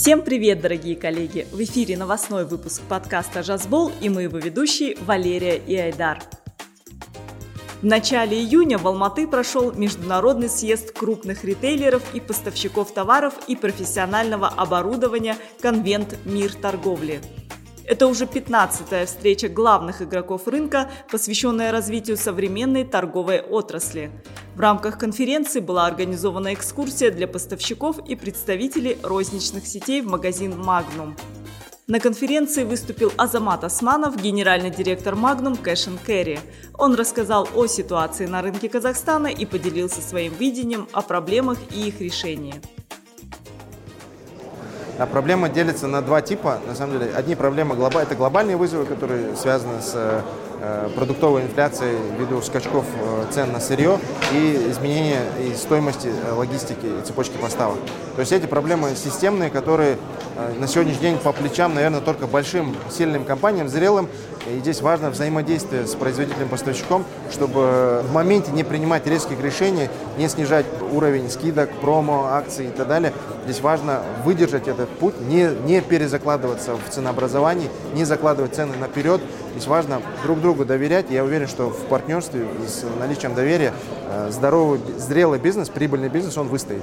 Всем привет, дорогие коллеги! В эфире новостной выпуск подкаста «Жазбол» и мы его ведущие Валерия и Айдар. В начале июня в Алматы прошел международный съезд крупных ритейлеров и поставщиков товаров и профессионального оборудования «Конвент Мир торговли». Это уже 15-я встреча главных игроков рынка, посвященная развитию современной торговой отрасли. В рамках конференции была организована экскурсия для поставщиков и представителей розничных сетей в магазин Magnum. На конференции выступил Азамат Османов, генеральный директор Magnum Cash & Carry. Он рассказал о ситуации на рынке Казахстана и поделился своим видением о проблемах и их решении. Проблема делится на два типа. На самом деле, одни проблемы это глобальные вызовы, которые связаны с продуктовой инфляцией ввиду скачков цен на сырье и изменения стоимости логистики и цепочки поставок. То есть эти проблемы системные, которые на сегодняшний день по плечам, наверное, только большим, сильным компаниям, зрелым. И здесь важно взаимодействие с производителем-поставщиком, чтобы в моменте не принимать резких решений, не снижать уровень скидок, промо, акций и так далее. Здесь важно выдержать этот путь, не перезакладываться в ценообразовании, не закладывать цены наперед. Здесь важно друг другу доверять. Я уверен, что в партнерстве и с наличием доверия здоровый, зрелый бизнес, прибыльный бизнес, он выстоит.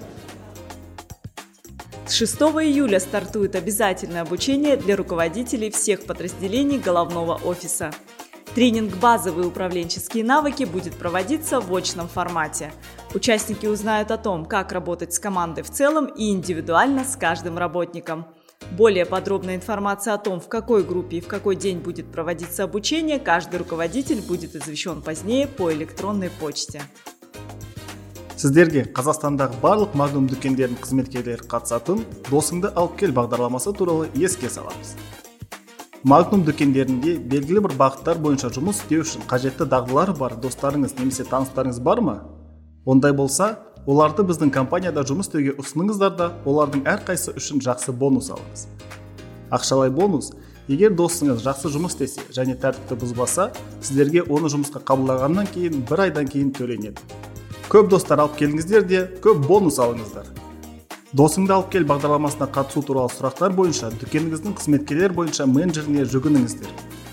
С 6 июля стартует обязательное обучение для руководителей всех подразделений головного офиса. Тренинг «Базовые управленческие навыки» будет проводиться в очном формате. Участники узнают о том, как работать с командой в целом и индивидуально с каждым работником. Более подробная информация о том, в какой группе и в какой день будет проводиться обучение, каждый руководитель будет извещен позднее по электронной почте. Сіздерге Қазақстандағы барлық Magnum дүкендерінің қызметкерлері қатысатын «Досыңды алып кел» бағдарламасы туралы еске саламыз. Magnum дүкендерінде белгілі бір бағыттар бойынша жұмыс істеу үшін қажетті дағдылары бар достарыңыз немесе таныстарыңыз бар ма? Ондай болса, оларды біздің компанияда жұмыс істеуге ұсыныңыздар да, олардың әрқайсысы үшін жақсы бонус алыңыз. Ақшалай бонус, егер досыңыз жақсы жұмыс істесе және тәртіпті бұзбаса, сіздерге оны жұмысқа қабылдағаннан кейін 1 айдан кейін төленеді. Көп достар алып келіңіздер де, көп бонус алыңыздар. Досыңды алып кел бағдарламасына қатысу туралы сұрақтар бойынша дүкеніңіздің қызметкерлер бойынша менеджеріне жүгініңіздер.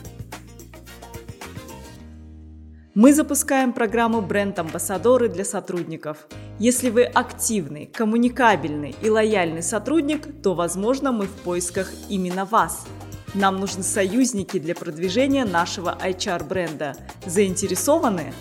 Мы запускаем программу «Бренд-амбассадоры» для сотрудников. Если вы активный, коммуникабельный и лояльный сотрудник, то, возможно, мы в поисках именно вас. Нам нужны союзники для продвижения нашего HR-бренда. Заинтересованы?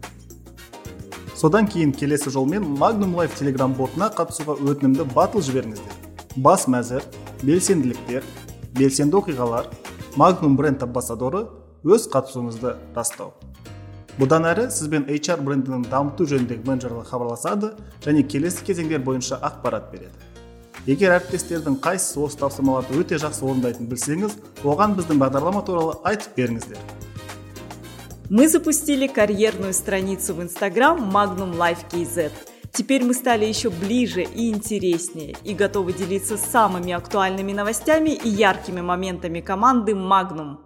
Содан кейін келесі жолмен Magnum Life Telegram-ботына қатысуға өтінімді батыл жіберіңіздер. Бас мәзір, белсенділіктер, белсенді оқиғалар, Magnum бренд-амбассадоры өз қатысуыңызды растау. Бұдан әрі сізбен HR брендінің дамыту жөніндегі менеджерлер хабарласады және келесі кезеңдер бойынша ақпарат береді. Егер әріптестердің қайсысы осы тапсырмаларды өте жақсы орындайтын білсеңіз, оған біздің бағдарлама туралы айтып беріңіздер. Мы запустили карьерную страницу в Instagram Magnum Life KZ. Теперь мы стали еще ближе и интереснее и готовы делиться самыми актуальными новостями и яркими моментами команды Magnum.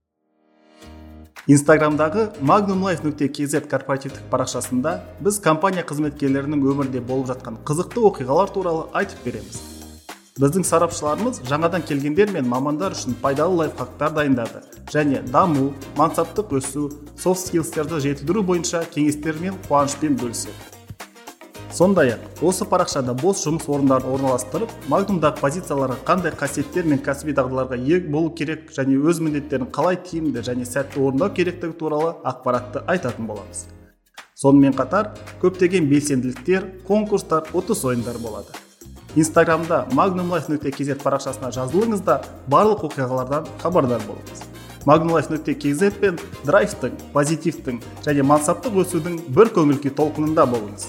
Инстаграмдағы magnumlife.kz корпоративтік парақшасында біз компания қызметкерлерінің өмірде болып жатқан қызықты оқиғалар туралы айтып береміз. Біздің сарапшыларымыз жаңадан келгендер мен мамандар үшін пайдалы лайфхактар дайындады және даму, мансаптық өсу, soft skillsтерді жетілдіру бойынша кеңестермен қуанышпен бөліседі. Сондай-ақ, осы парақшада бос жұмыс орындарын орналастырып, Magnumдағы позицияларға қандай қасиеттер мен кәсіби дағдыларға ие болу керек және өз міндеттерін қалай тиімді және сәтті орындау керектігі туралы ақпаратты айтатын боламыз. Сонымен қатар, көптеген белсенділіктер, конкурстар, ұтыс ойындар болады. Инстаграмда magnumlife.kz парақшасына жазылыңыз да барлық оқиғалардан хабардар болыңыз. magnumlife.kz пен драйвтың, позитивтің және мансаптық өсудің бір көңіл-күй толқынында болыңыз.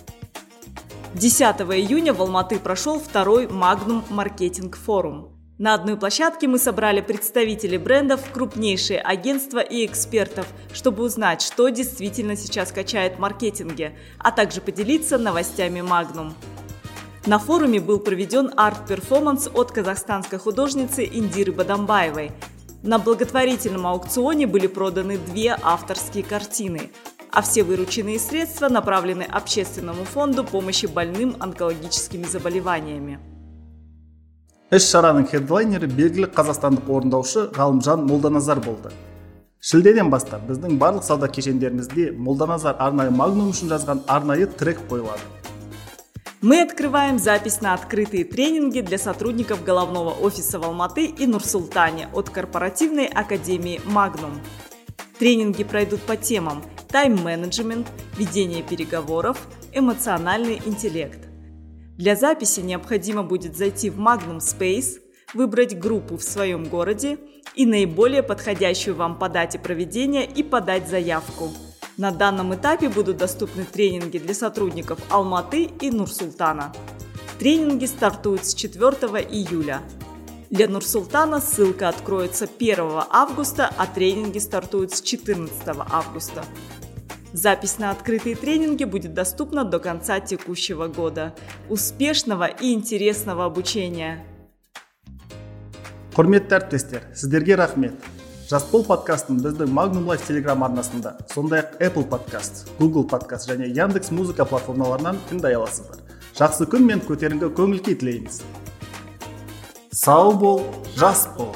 10 июня в Алматы прошел второй Magnum Маркетинг Форум. На одной площадке мы собрали представителей брендов, крупнейшие агентства и экспертов, чтобы узнать, что действительно сейчас качает в маркетинге, а также поделиться новостями Magnum. На форуме был проведен арт-перформанс от казахстанской художницы Индиры Бадамбаевой. На благотворительном аукционе были проданы 2 авторские картины, а все вырученные средства направлены Общественному фонду помощи больным онкологическими заболеваниями. Іс-шараның хедлайнері белгілі қазақстандық орындаушы Ғалымжан Молданазар болды. Шілдеден бастап біздің барлық сауда кешендерімізде Молданазар арнайы Магнум үшін жазған арнайы трек қойылады. Мы открываем запись на открытые тренинги для сотрудников головного офиса в Алматы и Нур-Султане от корпоративной академии Magnum. Тренинги пройдут по темам тайм-менеджмент, ведение переговоров, эмоциональный интеллект. Для записи необходимо будет зайти в Magnum Space, выбрать группу в своем городе и наиболее подходящую вам по дате проведения и подать заявку. На данном этапе будут доступны тренинги для сотрудников Алматы и Нур-Султана. Тренинги стартуют с 4 июля. Для Нур-Султана ссылка откроется 1 августа, а тренинги стартуют с 14 августа. Запись на открытые тренинги будет доступна до конца текущего года. Успешного и интересного обучения! Құрметті әріптестер, сіздерге рахмет. Жасбол подкастын біздің Magnum Life Telegram арнасында, сондай-ақ Apple Podcast, Google Podcast және Яндекс Музыка платформаларынан тыңдай аласыздар. Жақсы күн мен көтеріңкі көңіл күй тілейміз. Сау бол, жас бол!